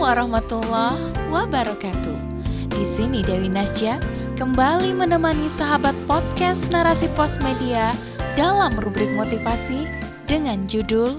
warahmatullahi wabarakatuh. Di sini Dewi Nasja kembali menemani sahabat podcast Narasi Pos Media dalam rubrik motivasi dengan judul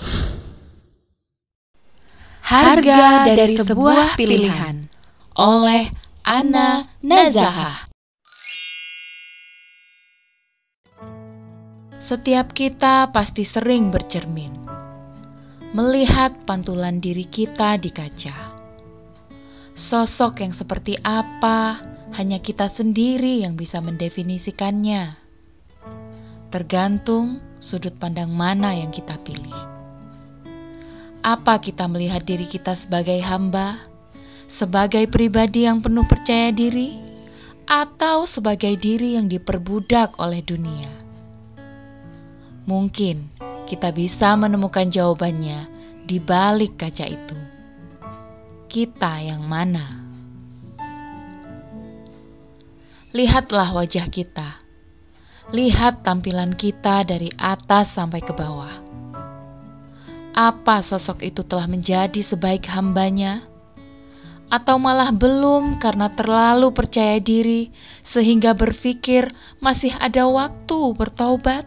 Harga dari Sebuah Pilihan oleh Anna Nazahah. Setiap kita pasti sering bercermin, melihat pantulan diri kita di kaca. Sosok yang seperti apa, hanya kita sendiri yang bisa mendefinisikannya. Tergantung sudut pandang mana yang kita pilih. Apa kita melihat diri kita sebagai hamba, sebagai pribadi yang penuh percaya diri, atau sebagai diri yang diperbudak oleh dunia? Mungkin kita bisa menemukan jawabannya di balik kaca itu. Kita yang mana? Lihatlah wajah kita. Lihat tampilan kita dari atas sampai ke bawah. Apa sosok itu telah menjadi sebaik hambanya? Atau malah belum karena terlalu percaya diri sehingga berpikir masih ada waktu bertaubat?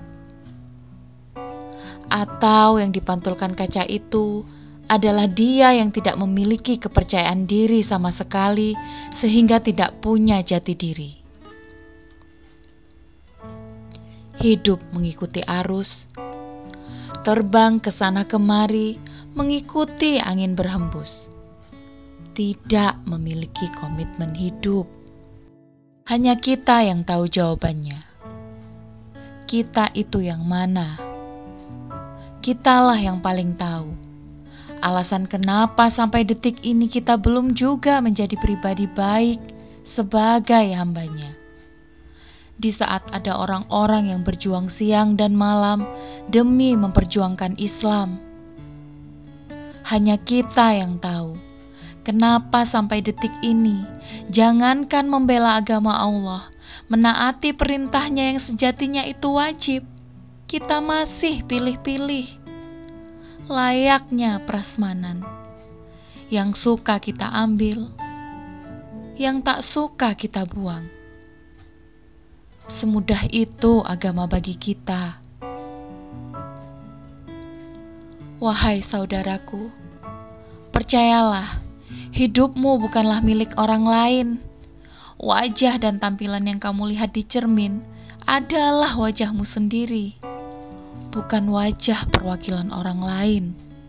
Atau yang dipantulkan kaca itu adalah dia yang tidak memiliki kepercayaan diri sama sekali sehingga tidak punya jati diri. Hidup mengikuti arus, terbang ke sana kemari mengikuti angin berhembus. Tidak memiliki komitmen hidup. Hanya kita yang tahu jawabannya. Kita itu yang mana? Kitalah yang paling tahu alasan kenapa sampai detik ini kita belum juga menjadi pribadi baik sebagai hambanya. Di saat ada orang-orang yang berjuang siang dan malam demi memperjuangkan Islam. Hanya kita yang tahu kenapa sampai detik ini jangankan membela agama Allah, menaati perintahnya yang sejatinya itu wajib, kita masih pilih-pilih. Layaknya prasmanan. Yang suka kita ambil, yang tak suka kita buang. Semudah itu agama bagi kita. Wahai saudaraku, percayalah, hidupmu bukanlah milik orang lain. Wajah dan tampilan yang kamu lihat di cermin adalah wajahmu sendiri, bukan wajah perwakilan orang lain.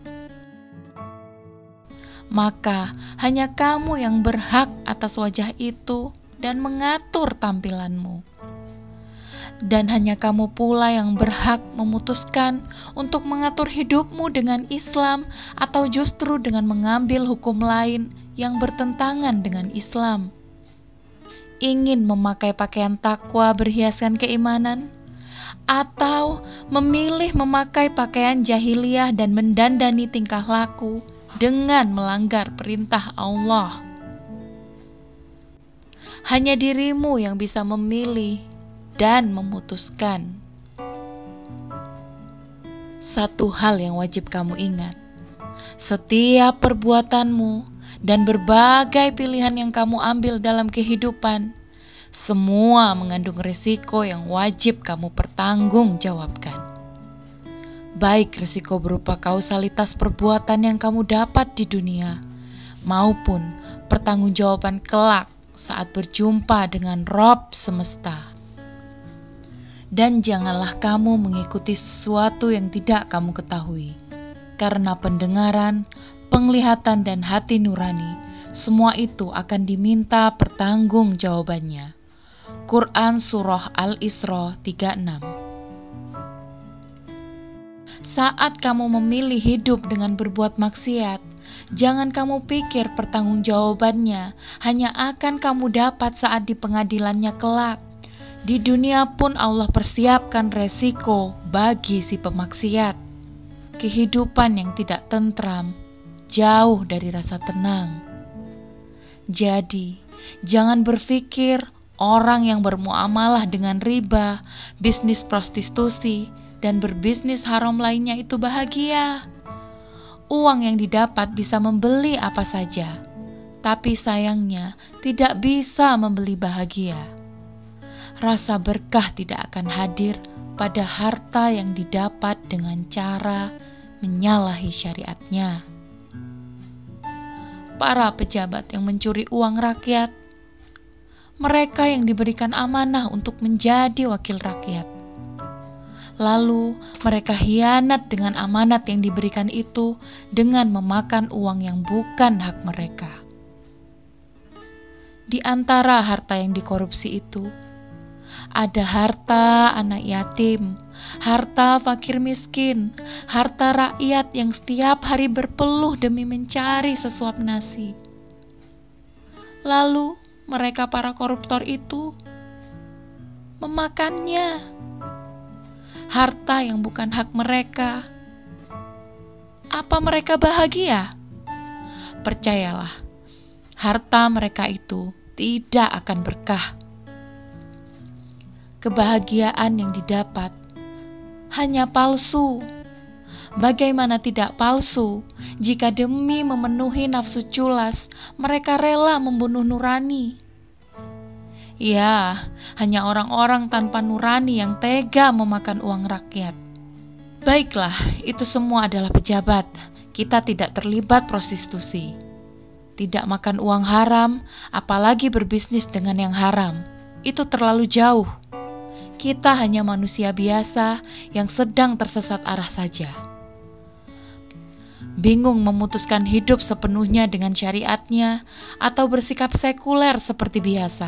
Maka hanya kamu yang berhak atas wajah itu dan mengatur tampilanmu. Dan hanya kamu pula yang berhak memutuskan untuk mengatur hidupmu dengan Islam atau justru dengan mengambil hukum lain yang bertentangan dengan Islam. Ingin memakai pakaian takwa berhiaskan keimanan? Atau memilih memakai pakaian jahiliyah dan mendandani tingkah laku dengan melanggar perintah Allah? Hanya dirimu yang bisa memilih dan memutuskan. Satu hal yang wajib kamu ingat, setiap perbuatanmu dan berbagai pilihan yang kamu ambil dalam kehidupan semua mengandung risiko yang wajib kamu pertanggungjawabkan. Baik risiko berupa kausalitas perbuatan yang kamu dapat di dunia, maupun pertanggungjawaban kelak saat berjumpa dengan Rob semesta. Dan janganlah kamu mengikuti sesuatu yang tidak kamu ketahui, karena pendengaran, penglihatan, dan hati nurani, semua itu akan diminta pertanggungjawabannya. Quran Surah Al-Isra 36. Saat kamu memilih hidup dengan berbuat maksiat, jangan kamu pikir pertanggungjawabannya hanya akan kamu dapat saat di pengadilannya kelak. Di dunia pun Allah persiapkan resiko bagi si pemaksiat. Kehidupan yang tidak tentram, jauh dari rasa tenang. Jadi, jangan berpikir orang yang bermuamalah dengan riba, bisnis prostitusi, dan berbisnis haram lainnya itu bahagia. Uang yang didapat bisa membeli apa saja, tapi sayangnya tidak bisa membeli bahagia. Rasa berkah tidak akan hadir pada harta yang didapat dengan cara menyalahi syariatnya. Para pejabat yang mencuri uang rakyat, mereka yang diberikan amanah untuk menjadi wakil rakyat, lalu mereka hianat dengan amanat yang diberikan itu dengan memakan uang yang bukan hak mereka. Di antara harta yang dikorupsi itu, ada harta anak yatim, harta fakir miskin, harta rakyat yang setiap hari berpeluh demi mencari sesuap nasi. Lalu mereka para koruptor itu memakannya. Harta yang bukan hak mereka. Apa mereka bahagia? Percayalah, harta mereka itu tidak akan berkah. Kebahagiaan yang didapat hanya palsu. Bagaimana tidak palsu jika demi memenuhi nafsu culas mereka rela membunuh nurani? Ya, hanya orang-orang tanpa nurani yang tega memakan uang rakyat. Baiklah, itu semua adalah pejabat. Kita tidak terlibat prostitusi, tidak makan uang haram, apalagi berbisnis dengan yang haram. Itu terlalu jauh. Kita hanya manusia biasa yang sedang tersesat arah saja. Bingung memutuskan hidup sepenuhnya dengan syariatnya atau bersikap sekuler seperti biasa.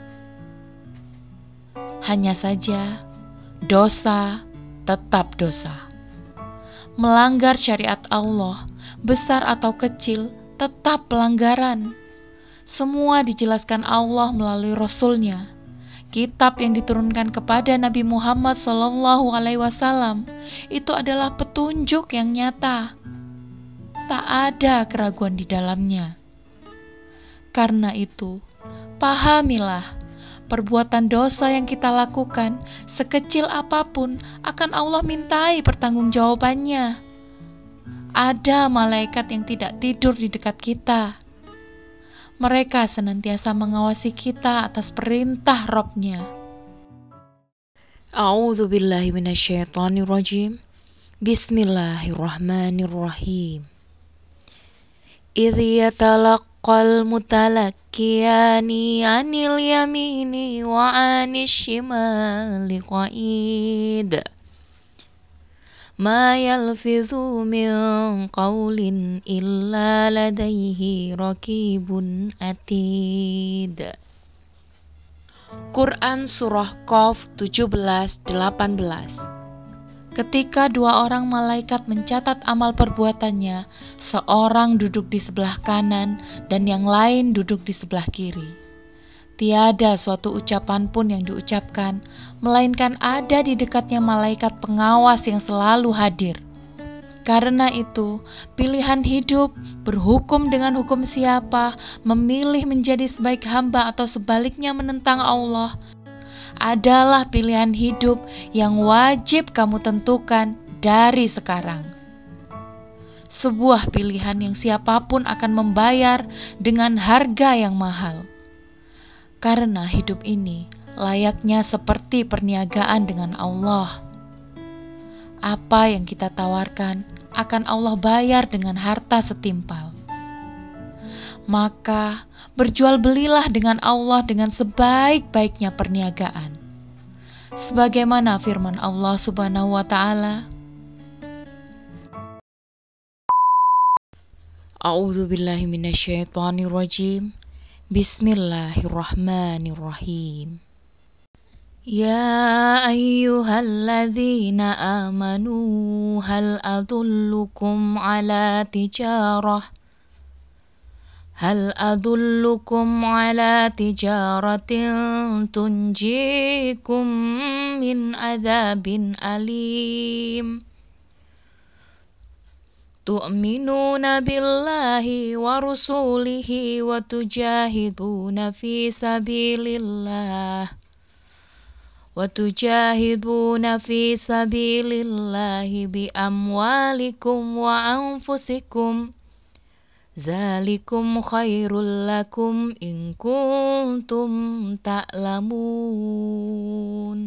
Hanya saja, dosa tetap dosa. Melanggar syariat Allah, besar atau kecil, tetap pelanggaran. Semua dijelaskan Allah melalui Rasul-Nya. Kitab yang diturunkan kepada Nabi Muhammad SAW itu adalah petunjuk yang nyata. Tak ada keraguan di dalamnya. Karena itu, pahamilah, perbuatan dosa yang kita lakukan, sekecil apapun, akan Allah mintai pertanggungjawabannya. Ada malaikat yang tidak tidur di dekat kita. Mereka senantiasa mengawasi kita atas perintah Rabb-Nya. A'udzu billahi minasyaitonir rajim. Bismillahirrahmanirrahim. Idh yatalaqqal mutalaqqiyani 'anil yamini wa 'anil shimali qa'id. Ma yalfidhu min qawlin illa ladaihi raqibun atid. Quran Surah Qaf 17-18. Ketika dua orang malaikat mencatat amal perbuatannya, seorang duduk di sebelah kanan dan yang lain duduk di sebelah kiri. Tiada suatu ucapan pun yang diucapkan, melainkan ada di dekatnya malaikat pengawas yang selalu hadir. Karena itu, pilihan hidup, berhukum dengan hukum siapa, memilih menjadi sebaik hamba atau sebaliknya menentang Allah, adalah pilihan hidup yang wajib kamu tentukan dari sekarang. Sebuah pilihan yang siapapun akan membayar dengan harga yang mahal. Karena hidup ini layaknya seperti perniagaan dengan Allah. Apa yang kita tawarkan akan Allah bayar dengan harta setimpal. Maka berjual belilah dengan Allah dengan sebaik-baiknya perniagaan. Sebagaimana firman Allah Subhanahu wa Ta'ala, A'udzu billahi minasyaitonir rajim. Bismillahirrahmanirrahim. Ya ayyuhalladzina amanu hal adullukum ala tijaratin tunjikum min adzabin alim. Tu'minuna billahi wa rusulihi wa tujahiduna fi sabilillah وَتُجَاهِدُونَ فِي سَبِيلِ اللَّهِ بِأَمْوَالِكُمْ وَأَنفُسِكُمْ ذَلِكُمْ خَيْرٌ لَكُمْ إِن كُنتُمْ تَعْلَمُونَ.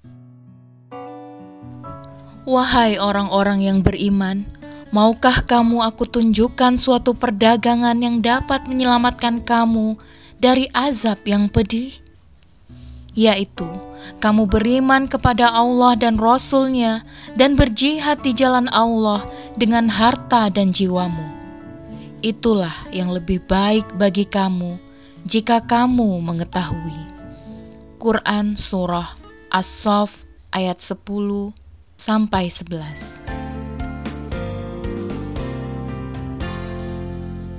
Wahai orang-orang yang beriman, maukah kamu aku tunjukkan suatu perdagangan yang dapat menyelamatkan kamu dari azab yang pedih? Yaitu, kamu beriman kepada Allah dan Rasul-Nya dan berjihad di jalan Allah dengan harta dan jiwamu. Itulah yang lebih baik bagi kamu jika kamu mengetahui. Quran Surah As-Saff ayat 10-11.